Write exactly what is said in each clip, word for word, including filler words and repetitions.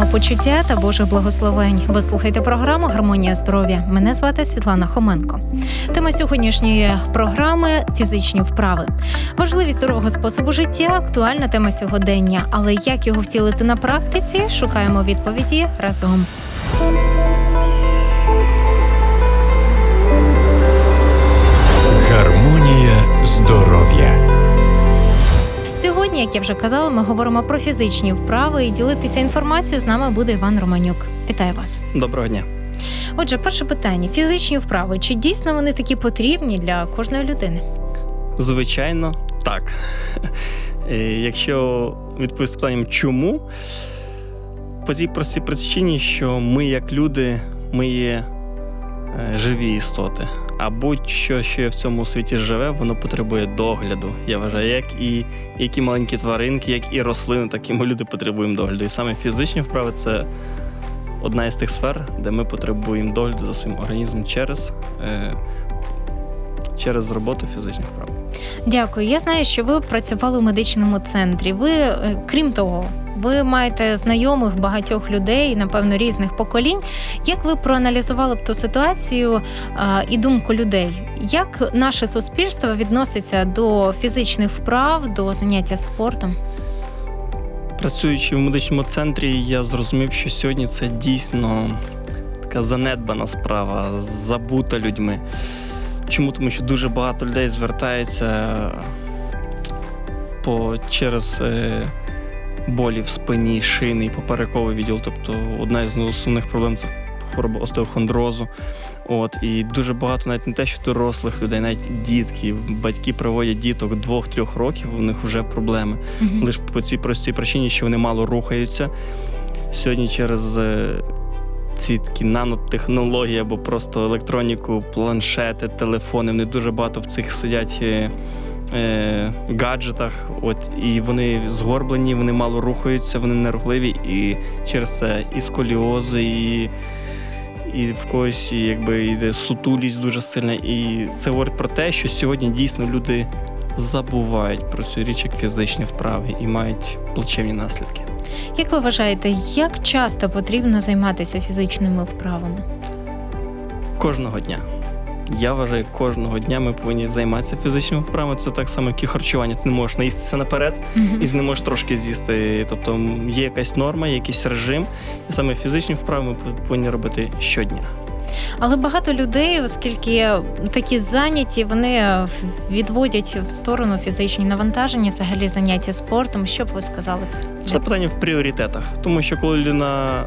самопочуття та Божих благословень. Ви слухаєте програму «Гармонія здоров'я». Мене звати Світлана Хоменко. Тема сьогоднішньої програми – фізичні вправи. Важливість здорового способу життя – актуальна тема сьогодення. Але як його втілити на практиці? Шукаємо відповіді разом. Гармонія здоров'я. Сьогодні, як я вже казала, ми говоримо про фізичні вправи, і ділитися інформацією з нами буде Іван Романюк. Вітаю вас. Доброго дня. Отже, перше питання. Фізичні вправи. Чи дійсно вони такі потрібні для кожної людини? Звичайно, так. Якщо відповісти питанням «чому?», по цій простій причині, що ми, як люди, ми є живі істоти. А будь-що, що в цьому світі живе, воно потребує догляду. Я вважаю, як і які маленькі тваринки, як і рослини, так і ми люди потребуємо догляду. І саме фізичні вправи – це одна із тих сфер, де ми потребуємо догляду за своїм організмом через, е, через роботу фізичних вправ. Дякую. Я знаю, що ви працювали у медичному центрі. Ви, крім того, ви маєте знайомих багатьох людей, напевно, різних поколінь. Як ви проаналізували б ту ситуацію а, і думку людей? Як наше суспільство відноситься до фізичних вправ, до заняття спортом? Працюючи в медичному центрі, я зрозумів, що сьогодні це дійсно така занедбана справа, забута людьми. Чому? Тому що дуже багато людей звертаються по, через е, болі в спині, шийний, поперековий відділ. Тобто одна із основних проблем – це хвороба остеохондрозу. От, і дуже багато, навіть не те, що дорослих людей, навіть дітки, батьки приводять діток двох-трьох років, у них вже проблеми. Mm-hmm. Лише по цій простій причині, що вони мало рухаються. Сьогодні через е, ці такі нанотехнології або просто електроніку, планшети, телефони, вони дуже багато в цих сидять е, е, гаджетах, от, і вони згорблені, вони мало рухаються, вони нерухливі, і через це і сколіози, і, і в когось якби йде сутулість дуже сильна. І це говорить про те, що сьогодні дійсно люди забувають про цю річ як фізичні вправи і мають плачевні наслідки. Як ви вважаєте, як часто потрібно займатися фізичними вправами? Кожного дня. Я вважаю, кожного дня ми повинні займатися фізичними вправами. Це так само, як і харчування. Ти не можеш наїстися наперед, mm-hmm. і ти не можеш трошки з'їсти. Тобто є якась норма, якийсь режим. І саме фізичні вправи ми повинні робити щодня. Але багато людей, оскільки такі зайняті, вони відводять в сторону фізичні навантаження, взагалі заняття спортом. Що б ви сказали? Це питання в пріоритетах. Тому що коли людина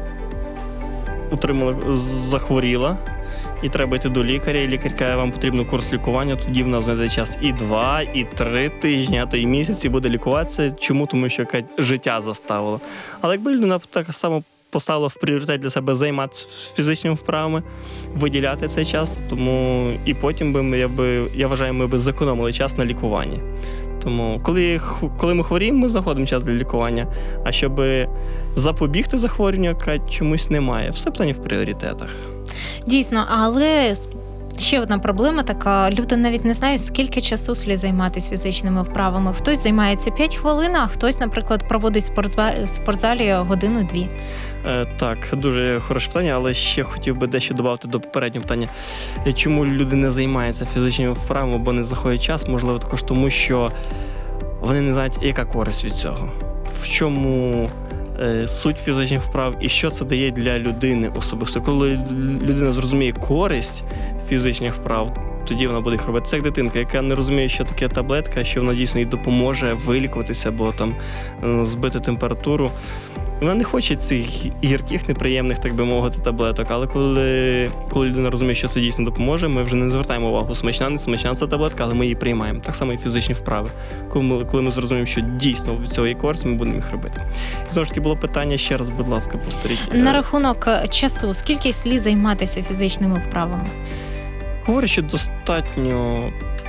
отримала, захворіла, і треба йти до лікаря, і лікар каже, вам потрібен курс лікування, тоді в нас знайде час і два, і три тижні, а то і місяць, і буде лікуватися. Чому? Тому що яке життя заставило. Але якби людина так само поставила в пріоритет для себе займатися фізичними вправами, виділяти цей час, тому і потім би ми, я, би, я вважаю, ми б зекономили час на лікуванні. Тому коли, коли ми хворіємо, ми знаходимо час для лікування, а щоб запобігти захворюванню, чомусь немає. Все питання в пріоритетах. Дійсно, але ще одна проблема така, люди навіть не знають, скільки часу слід займатися фізичними вправами. Хтось займається п'ять хвилин, а хтось, наприклад, проводить в спортзалі годину-дві. Е, так, дуже хороше питання, але ще хотів би дещо додати до попереднього питання. Чому люди не займаються фізичними вправами, або не знаходять час? Можливо, також тому, що вони не знають, яка користь від цього. В чому е, суть фізичних вправ і що це дає для людини особисто. Коли людина зрозуміє користь фізичних вправ, тоді вона буде їх робити. Це як дитинка, яка не розуміє, що таке таблетка, що вона дійсно їй допоможе вилікуватися або там збити температуру. Вона не хоче цих гірких, неприємних, так би мовити, таблеток, але коли, коли людина розуміє, що це дійсно допоможе, ми вже не звертаємо увагу, смачна, не смачна ця таблетка, але ми її приймаємо. Так само і фізичні вправи. Коли ми, коли ми зрозуміємо, що дійсно від цього є користь, ми будемо їх робити. І знову ж таки було питання, ще раз, будь ласка, повторіть. На рахунок часу, скільки слід займатися фізичними вправами? Говорю, що достатньо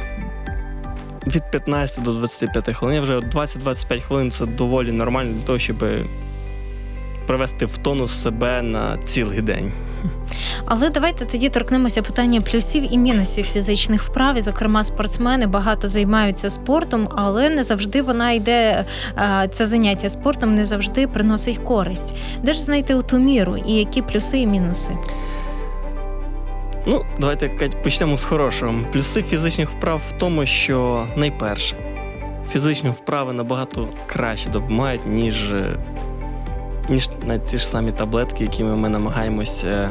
від п'ятнадцяти до двадцяти п'яти хвилин. Я вже двадцять-двадцять п'ять хвилин – це доволі нормально для того, щоб привести в тонус себе на цілий день. Але давайте тоді торкнемося питання плюсів і мінусів фізичних вправ. І, зокрема, спортсмени багато займаються спортом, але не завжди вона йде, це заняття спортом не завжди приносить користь. Де ж знайти ту міру і які плюси і мінуси? Ну, давайте, Кать, почнемо з хорошого. Плюси фізичних вправ в тому, що найперше, фізичні вправи набагато краще допомагають, ніж, ніж навіть ці ж самі таблетки, якими ми намагаємося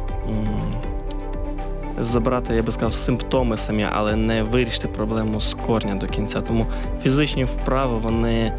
забрати, я би сказав, симптоми самі, але не вирішити проблему з корня до кінця. Тому фізичні вправи, вони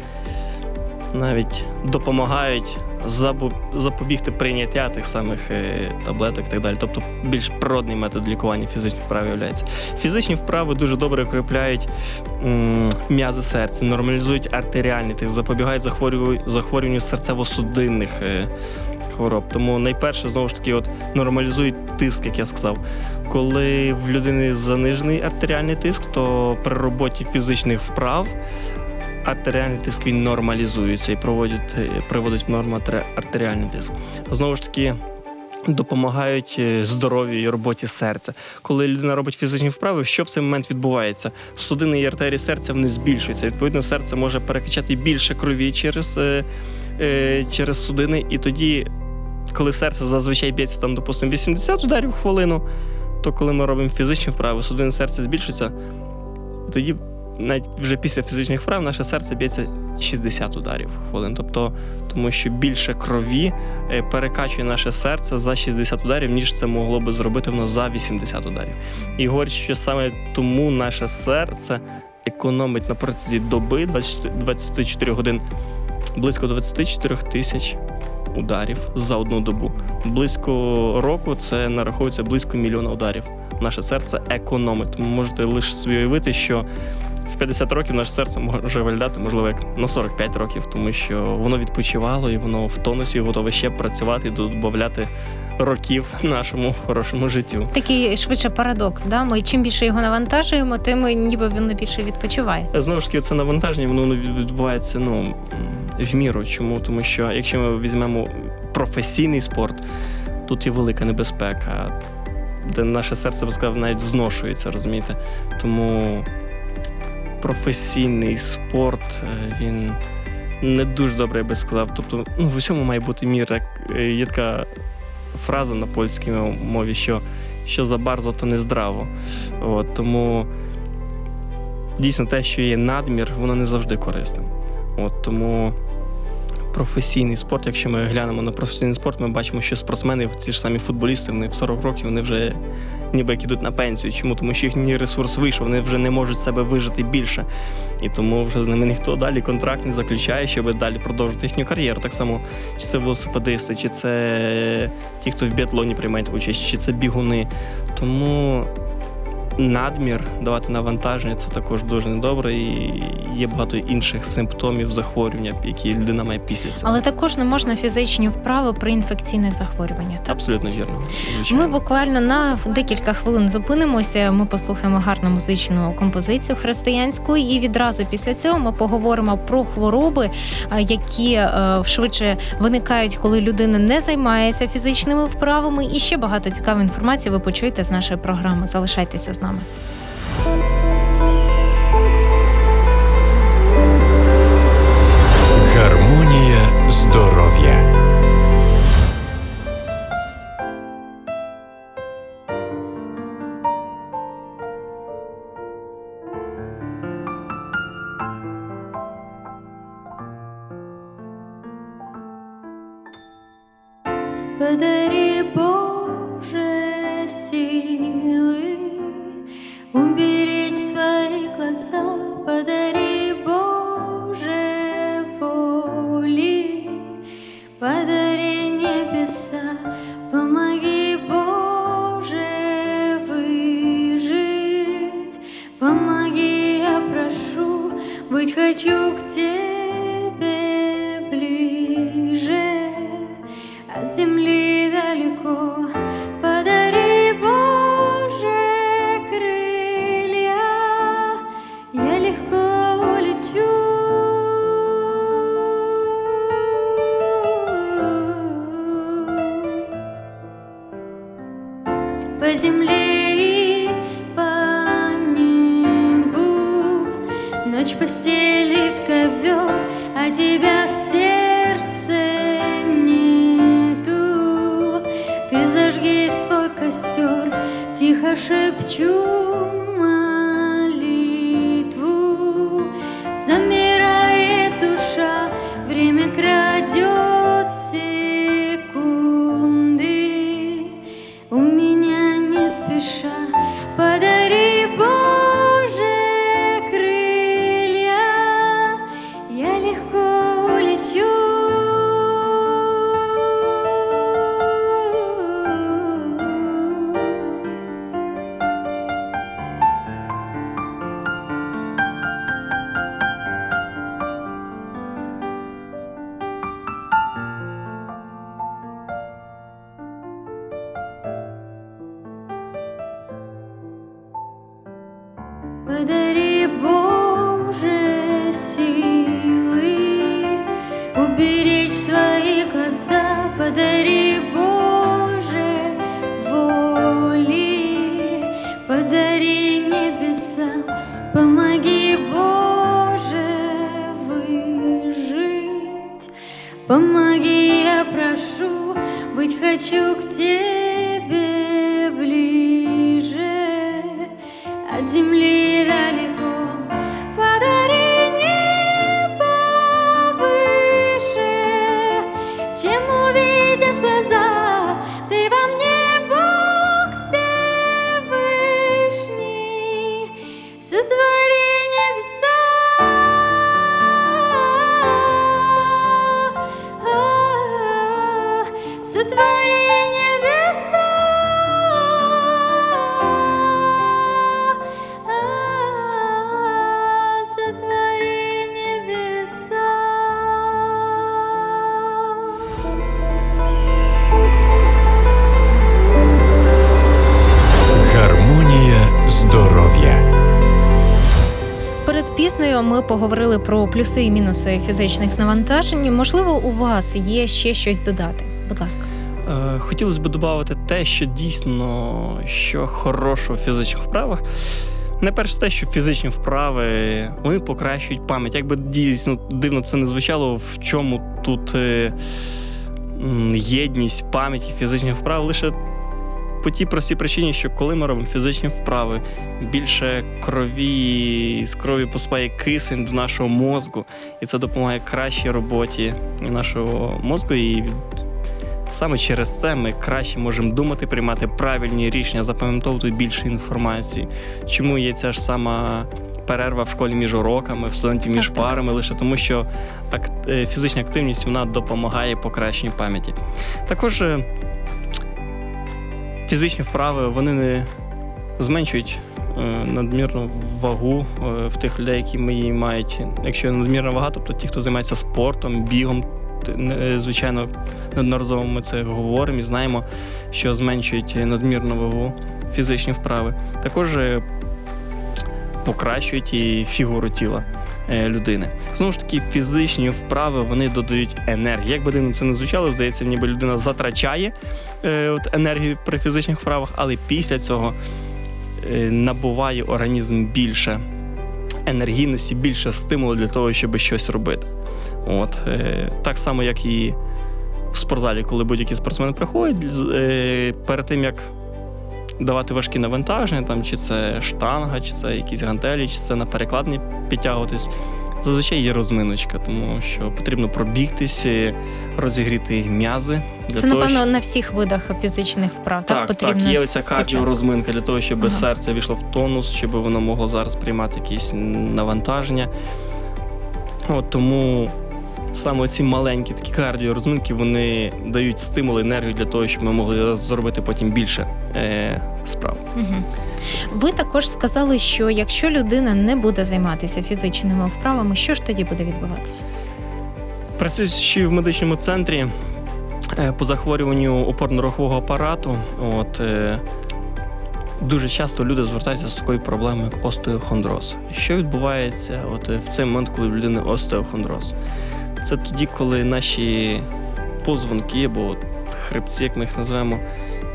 навіть допомагають запобігти прийняття тих самих таблеток і так далі. Тобто більш природний метод лікування фізичних вправ являється. Фізичні вправи дуже добре укріпляють м- м'язи серця, нормалізують артеріальний тиск, запобігають захворюванню, захворюванню серцево-судинних хвороб. Тому найперше, знову ж таки, от, нормалізують тиск, як я сказав. Коли в людини занижений артеріальний тиск, то при роботі фізичних вправ артеріальний тиск він нормалізується і проводить, приводить в норму артеріальний тиск. Знову ж таки, допомагають здоров'ю і роботі серця. Коли людина робить фізичні вправи, що в цей момент відбувається? Судини і артерії серця вони збільшуються. Відповідно, серце може перекачати більше крові через, е, е, через судини, і тоді, коли серце зазвичай б'ється, там, допустимо, вісімдесят ударів в хвилину, то коли ми робимо фізичні вправи, судини серця збільшуються, тоді навіть вже після фізичних вправ наше серце б'ється шістдесят ударів в хвилину. Тобто, тому що більше крові перекачує наше серце за шістдесят ударів, ніж це могло би зробити воно за вісімдесят ударів. І говорять, що саме тому наше серце економить на протязі доби двадцять чотири годин близько двадцять чотири тисяч ударів за одну добу. Близько року це нараховується близько мільйона ударів. Наше серце економить. Тому можете лише собі уявити, що в п'ятдесят років наше серце може виглядати, можливо, як на сорок п'ять років, тому що воно відпочивало і воно в тонусі готове ще працювати і додати років нашому хорошому життю. Такий швидше парадокс, да? Ми чим більше його навантажуємо, тим ніби він більше відпочиває. Знову ж таки, це навантаження, воно відбувається, ну, в міру. Чому? Тому що якщо ми візьмемо професійний спорт, тут є велика небезпека, де наше серце, би сказав, навіть зношується, розумієте? Тому професійний спорт, він не дуже добре, я би сказав. Тобто, ну, в усьому має бути мір. Є така фраза на польській мові, що, що за bardzo, то не здраво. От, тому дійсно те, що є надмір, воно не завжди корисне. От, тому професійний спорт, якщо ми глянемо на професійний спорт, ми бачимо, що спортсмени, ці ж самі футболісти, вони в сорок років, вони вже ніби як ідуть на пенсію. Чому? Тому що їхній ресурс вийшов, вони вже не можуть себе вижити більше. І тому вже з ними ніхто далі контракт не заключає, щоб далі продовжити їхню кар'єру. Так само, чи це велосипедисти, чи це ті, хто в біатлоні приймають участь, чи це бігуни. Тому надмір, давати навантаження – це також дуже недобре, і є багато інших симптомів захворювання, які людина має після цього. Але також не можна фізичні вправи при інфекційних захворюваннях. Так? Абсолютно вірно. Звичайно. Ми буквально на декілька хвилин зупинимося, ми послухаємо гарну музичну композицію християнську, і відразу після цього ми поговоримо про хвороби, які швидше виникають, коли людина не займається фізичними вправами, і ще багато цікавої інформації ви почуєте з нашої програми. Залишайтеся з нами. Гармонія здоров'я. Подари, Боже, силы уберечь свои глаза, подари, Боже, воли, подари небеса, помоги, Боже, выжить, помоги, я прошу, быть хочу к Тебе ближе, от земли далеко, подари, Боже, крылья, я легко улечу. аллее по небу. Ночь постелит ковер, а тебя в сердце нету. Ты зажги свой костер, тихо шепчу молитву. Замирает душа, время крадет секунды. У меня не спеша подари, Боже, крылья, я легко улечу. Подари, Боже, силы уберечь свои глаза, подари, Боже, воли, подари небеса, помоги, Боже, выжить, помоги, я прошу, быть хочу к Тебе ближе. От земли далеко, подари небо выше, чем увидят глаза. Ты во мне, Бог Всевышний, сотвори небеса. Сотвори небеса. Гармонія здоров'я. Перед піснею ми поговорили про плюси і мінуси фізичних навантажень. Можливо, у вас є ще щось додати? Будь ласка. Е, Хотілося б додати те, що дійсно, що хорошого в фізичних вправах. Найперше те, що фізичні вправи, вони покращують пам'ять. Якби дійсно дивно це не звучало, в чому тут е, м, єдність пам'яті фізичних вправ, лише по тій простій причині, що коли ми робимо фізичні вправи, більше крові, з крові поступає кисень до нашого мозку, і це допомагає кращій роботі нашого мозку, і саме через це ми краще можемо думати, приймати правильні рішення, запам'ятовувати більше інформації. Чому є ця ж сама перерва в школі між уроками, в студентів між Так, так. парами, лише тому, що ак- фізична активність вона допомагає покращенню пам'яті. Також е, фізичні вправи, вони не зменшують е, надмірну вагу е, в тих людей, які ми її мають. Якщо надмірна вага, тобто ті, хто займається спортом, бігом, т- не- звичайно, неодноразово ми це говоримо і знаємо, що зменшують надмірну вагу фізичні вправи. Також е, покращують і фігуру тіла е, людини. Знову ж таки, фізичні вправи, вони додають енергії. Як би дивно це не звучало, здається, ніби людина затрачає е, от, енергію при фізичних вправах, але після цього е, набуває організм більше енергійності, більше стимулу для того, щоб щось робити. От, е, так само, як і в спортзалі, коли будь-які спортсмени приходять, е, перед тим, як давати важкі навантаження, там, чи це штанга, чи це якісь гантелі, чи це на перекладні підтягуватись, зазвичай є розминочка, тому що потрібно пробігтися, розігріти м'язи. Для Це, того, напевно, щоб... на всіх видах фізичних вправ. Так, Так, потрібно так, є оця спочатку. кардіорозминка для того, щоб Ага. серце війшло в тонус, щоб воно могло зараз приймати якісь навантаження. От, тому саме ці маленькі такі кардіорозминки, вони дають стимул, енергію для того, щоб ми могли зробити потім більше е, справ. Мгм. Ви також сказали, що якщо людина не буде займатися фізичними вправами, що ж тоді буде відбуватися? Працюючи в медичному центрі е, по захворюванню опорно-рухового апарату, от, е, дуже часто люди звертаються з такою проблемою, як остеохондроз. Що відбувається от, е, в цей момент, коли в людини остеохондроз? Це тоді, коли наші позвонки або от хребці, як ми їх називаємо,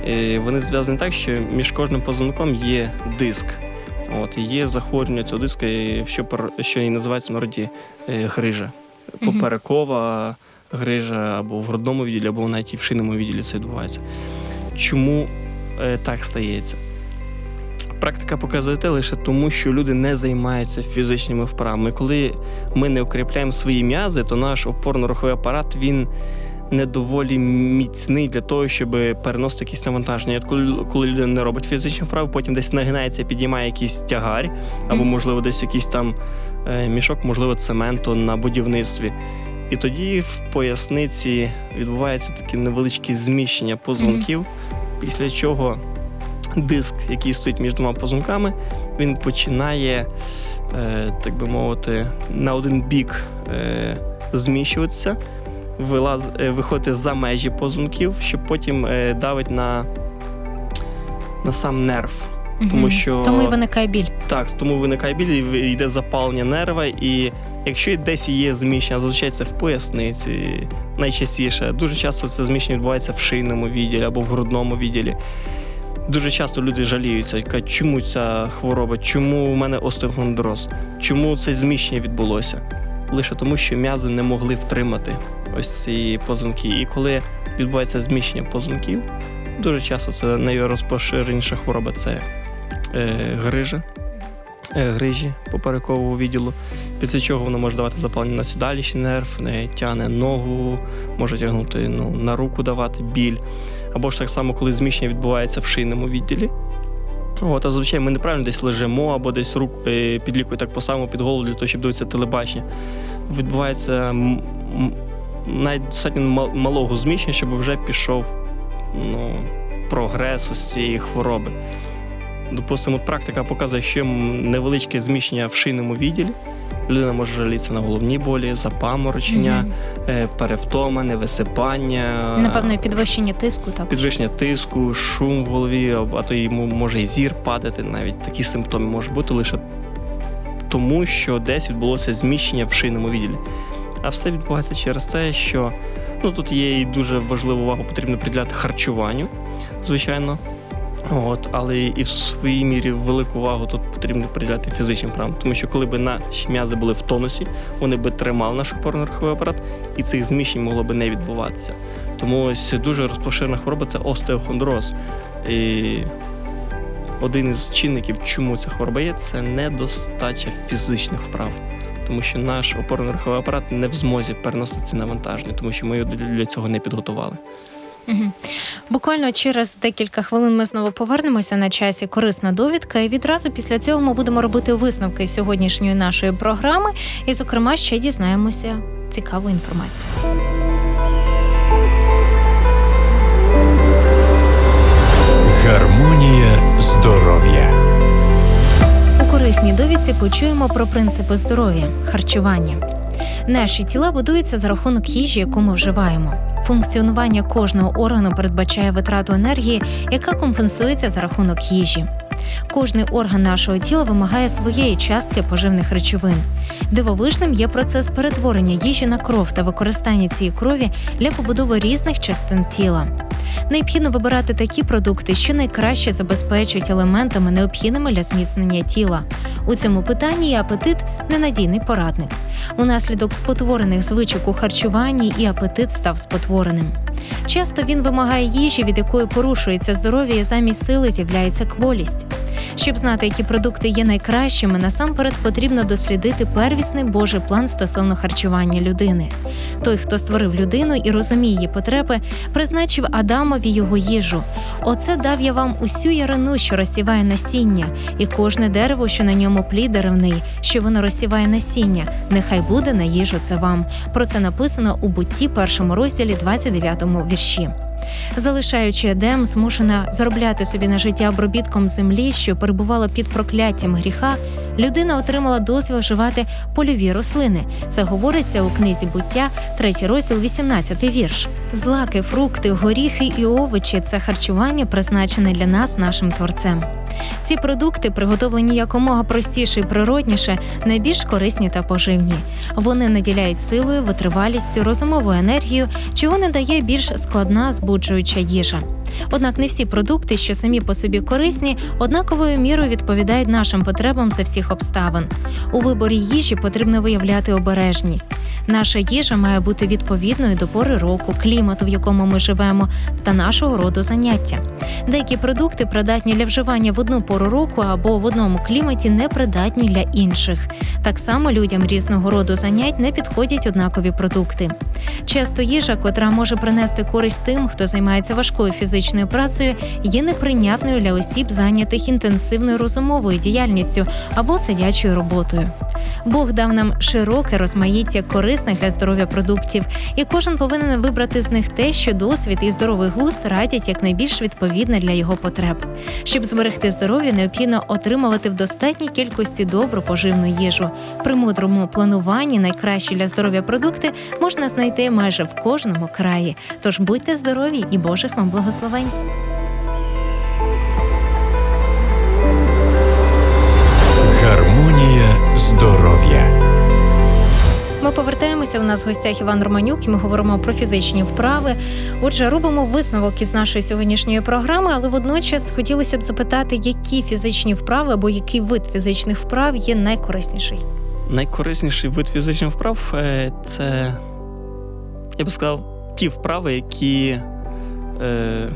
І вони зв'язані так, що між кожним позвонком є диск. От, і є захворювання цього диска, що, що і називається в народі грижа. Поперекова грижа або в грудному відділі, або навіть і в шийному відділі це відбувається. Чому е, так стається? Практика показує те лише тому, що люди не займаються фізичними вправами. Коли ми не укріпляємо свої м'язи, то наш опорно-руховий апарат, він не доволі міцний для того, щоб переносити якісь навантаження. От коли, коли людина не робить фізичні вправи, потім десь нагинається, підіймає якийсь тягар, або, можливо, десь якийсь там е, мішок, можливо, цементу на будівництві. І тоді в поясниці відбувається таке невеличке зміщення позвонків, після чого диск, який стоїть між двома позвонками, він починає, е, так би мовити, на один бік е, зміщуватися, вилаз, е, виходити за межі позвонків, щоб потім е, давить на, на сам нерв. Угу. Тому що тому і виникає біль. Так, тому виникає біль, і йде запалення нерва, і якщо десь є зміщення, зазвичай це в поясниці, найчастіше. Дуже часто це зміщення відбувається в шийному відділі або в грудному відділі. Дуже часто люди жаліються, кажуть, чому ця хвороба, чому у мене остеохондроз, чому це зміщення відбулося. Лише тому, що м'язи не могли втримати ось ці позвонки. І коли відбувається зміщення позвонків, дуже часто це найрозпоширеніша хвороба – це е, грижа, е, грижі поперекового відділу, після чого воно може давати запалення на сідалічний нерв, не тягне ногу, може тягнути ну, на руку, давати біль. Або ж так само, коли зміщення відбувається в шийному відділі. От, а зазвичай ми неправильно десь лежимо, або десь рук, е, під лікою так поставимо під голову для того, щоб дивитися телебачення. Відбувається м- м- навіть достатньо малого зміщення, щоб вже пішов ну, прогрес із цієї хвороби. Допустимо, практика показує, що невеличке зміщення в шийному відділі. Людина може жалітися на головні болі, запаморочення, mm-hmm. перевтома, невисипання. Напевно, підвищення тиску. Так. Підвищення тиску, шум в голові, а то йому може і зір падати. Навіть такі симптоми можуть бути лише тому, що десь відбулося зміщення в шийному відділі. А все відбувається через те, що ну, тут є і дуже важливу увагу потрібно приділяти харчуванню, звичайно. От, але і в своїй мірі велику увагу тут потрібно приділяти фізичним вправам, тому що коли б наші м'язи були в тонусі, вони б тримали наш опорно-руховий апарат, і цих зміщень могло б не відбуватися. Тому ось дуже розпоширена хвороба – це остеохондроз. І один із чинників, чому ця хвороба є, це недостача фізичних вправ. Тому що наш опорно-руховий апарат не в змозі переносити ці навантаження, тому що ми його для цього не підготували. Угу. Буквально через декілька хвилин ми знову повернемося на часі корисна довідка, і відразу після цього ми будемо робити висновки сьогоднішньої нашої програми і, зокрема, ще дізнаємося цікаву інформацію. Гармонія здоров'я. У корисній довідці почуємо про принципи здоров'я, харчування. Наші тіла будуються за рахунок їжі, яку ми вживаємо. Функціонування кожного органу передбачає витрату енергії, яка компенсується за рахунок їжі. Кожний орган нашого тіла вимагає своєї частки поживних речовин. Дивовижним є процес перетворення їжі на кров та використання цієї крові для побудови різних частин тіла. Необхідно вибирати такі продукти, що найкраще забезпечують елементами, необхідними для зміцнення тіла. У цьому питанні і апетит – ненадійний порадник. Унаслідок спотворених звичок у харчуванні і апетит став спотвореним. Часто він вимагає їжі, від якої порушується здоров'я, і замість сили з'являється кволість. Щоб знати, які продукти є найкращими, насамперед потрібно дослідити первісний Божий план стосовно харчування людини. Той, хто створив людину і розуміє її потреби, призначив Адамові його їжу. Оце дав я вам усю ярину, що розсіває насіння, і кожне дерево, що на ньому плід деревний, що воно розсіває насіння, нехай буде на їжу це вам. Про це написано у Бутті, першому розділі, двадцять дев'ятому вірші. Залишаючи Едем, змушена заробляти собі на життя обробітком землі, що перебувала під прокляттям гріха, людина отримала дозвіл вживати польові рослини. Це говориться у книзі Буття, третій розділ, вісімнадцятий вірш. Злаки, фрукти, горіхи і овочі – це харчування, призначене для нас нашим Творцем. Ці продукти, приготовлені якомога простіше і природніше, найбільш корисні та поживні. Вони наділяють силою, витривалістю, розумовою енергією, чого не дає більш складна збуджуюча їжа. Однак не всі продукти, що самі по собі корисні, однаковою мірою відповідають нашим потребам за всіх обставин. У виборі їжі потрібно виявляти обережність. Наша їжа має бути відповідною до пори року, клімату, в якому ми живемо, та нашого роду заняття. Деякі продукти придатні для вживання в одну пору року або в одному кліматі, не придатні для інших. Так само людям різного роду занять не підходять однакові продукти. Часто їжа, котра може принести користь тим, хто займається важкою фізичною працею, є неприйнятною для осіб, зайнятих інтенсивною розумовою діяльністю або сидячою роботою. Бог дав нам широке розмаїття корисних для здоров'я продуктів, і кожен повинен вибрати з них те, що досвід і здоровий глузд радять якнайбільш відповідне для його потреб. Щоб зберегти здоров'я, необхідно отримувати в достатній кількості добру поживну їжу. При мудрому плануванні найкращі для здоров'я продукти можна знайти майже в кожному краї. Тож будьте здорові і Божих вам благословень! Гармонія здоров'я. Ми повертаємося, у нас в гостях Іван Романюк, і ми говоримо про фізичні вправи. Отже, робимо висновок із нашої сьогоднішньої програми, але водночас хотілося б запитати, які фізичні вправи або який вид фізичних вправ є найкорисніший? Найкорисніший вид фізичних вправ е, – це, я би сказав, ті вправи, які е,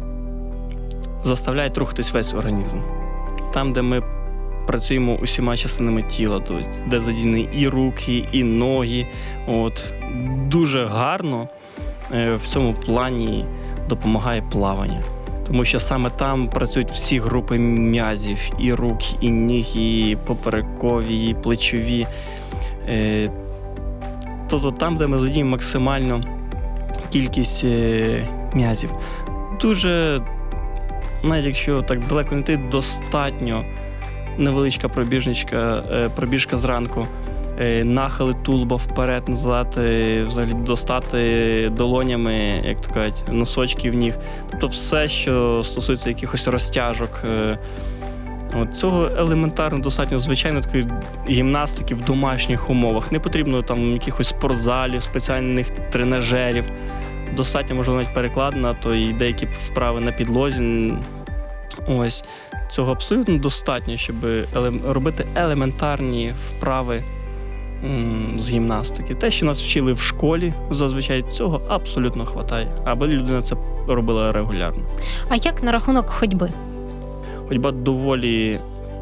заставляють рухатись весь організм. Там, де ми працюємо усіма частинами тіла, де задіяні і руки, і ноги. От. Дуже гарно е, в цьому плані допомагає плавання. Тому що саме там працюють всі групи м'язів, і рук, і ніг, і поперекові, і плечові. Е, тобто там, де ми задіємо максимальну кількість е, м'язів. Дуже, навіть якщо так далеко не йти, достатньо невеличка пробіжничка, е, пробіжка зранку, е, нахили тулуба вперед-назад, е, взагалі достати долонями, як то кажуть, носочків ніг. Тобто все, що стосується якихось розтяжок. Е, от цього елементарно достатньо, звичайно, такої гімнастики в домашніх умовах. Не потрібно там якихось спортзалів, спеціальних тренажерів. Достатньо, можливо, навіть перекладена, то і деякі вправи на підлозі. Ось. Цього абсолютно достатньо, щоб еле- робити елементарні вправи м- з гімнастики. Те, що нас вчили в школі, зазвичай цього абсолютно вистачає, аби людина це робила регулярно. А як на рахунок ходьби? Ходьба доволі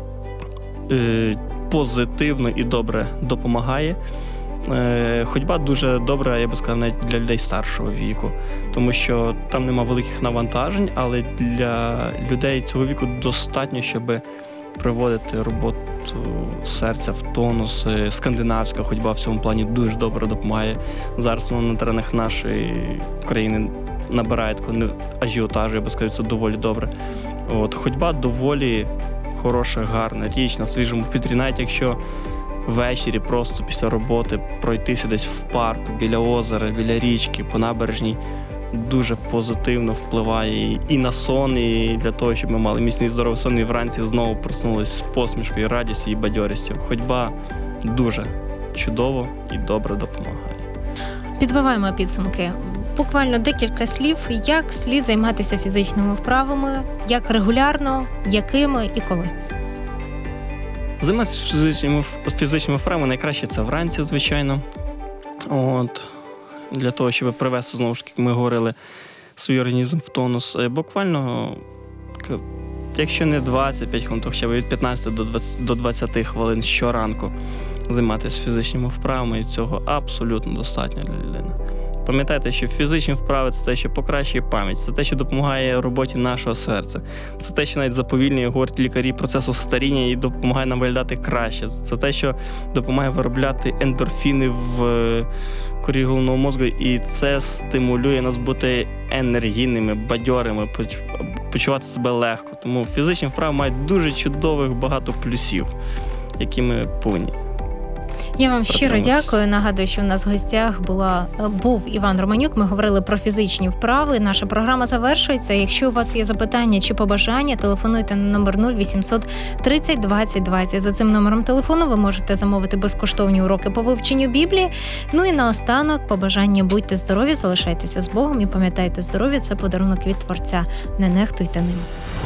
е- позитивно і добре допомагає. Е- ходьба дуже добра, я би сказав, навіть для людей старшого віку, тому що там нема великих навантажень, але для людей цього віку достатньо, щоб приводити роботу серця в тонус. Скандинавська ходьба в цьому плані дуже добре допомагає. Зараз вона на теренах нашої країни набирає такого ажіотажу, я би сказав, це доволі добре. От, ходьба доволі хороша, гарна річ на свіжому повітрі, навіть якщо ввечері просто після роботи пройтися десь в парку, біля озера, біля річки, по набережній, дуже позитивно впливає і на сон, і для того, щоб ми мали міцний здоровий сон, і вранці знову проснулись з посмішкою, радістю і бадьорістю. Ходьба дуже чудово і добре допомагає. Підбиваємо підсумки. Буквально декілька слів, як слід займатися фізичними вправами, як регулярно, якими і коли. Займатися фізичними, фізичними вправами найкраще це вранці, звичайно. От. Для того, щоб привести, знову ж таки, як ми говорили, свій організм в тонус. Буквально, якщо не двадцять п'ять хвилин, то хоча б від п'ятнадцяти до двадцяти хвилин щоранку займатися фізичними вправами, і цього абсолютно достатньо для людини. Пам'ятайте, що фізичні вправи – це те, що покращує пам'ять, це те, що допомагає роботі нашого серця. Це те, що навіть заповільнює, говорять лікарі, процесу старіння і допомагає нам виглядати краще. Це те, що допомагає виробляти ендорфіни в корі головного мозку, і це стимулює нас бути енергійними, бадьорими, почувати себе легко. Тому фізичні вправи мають дуже чудових багато плюсів, які ми повинні. Я вам щиро протримуватися. дякую. Нагадую, що у нас в гостях була був Іван Романюк. Ми говорили про фізичні вправи. Наша програма завершується. Якщо у вас є запитання чи побажання, телефонуйте на номер нуль вісімсот тридцять двадцять двадцять. За цим номером телефону ви можете замовити безкоштовні уроки по вивченню Біблії. Ну і наостанок побажання: будьте здорові, залишайтеся з Богом і пам'ятайте, здоров'я – це подарунок від Творця. Не нехтуйте ним.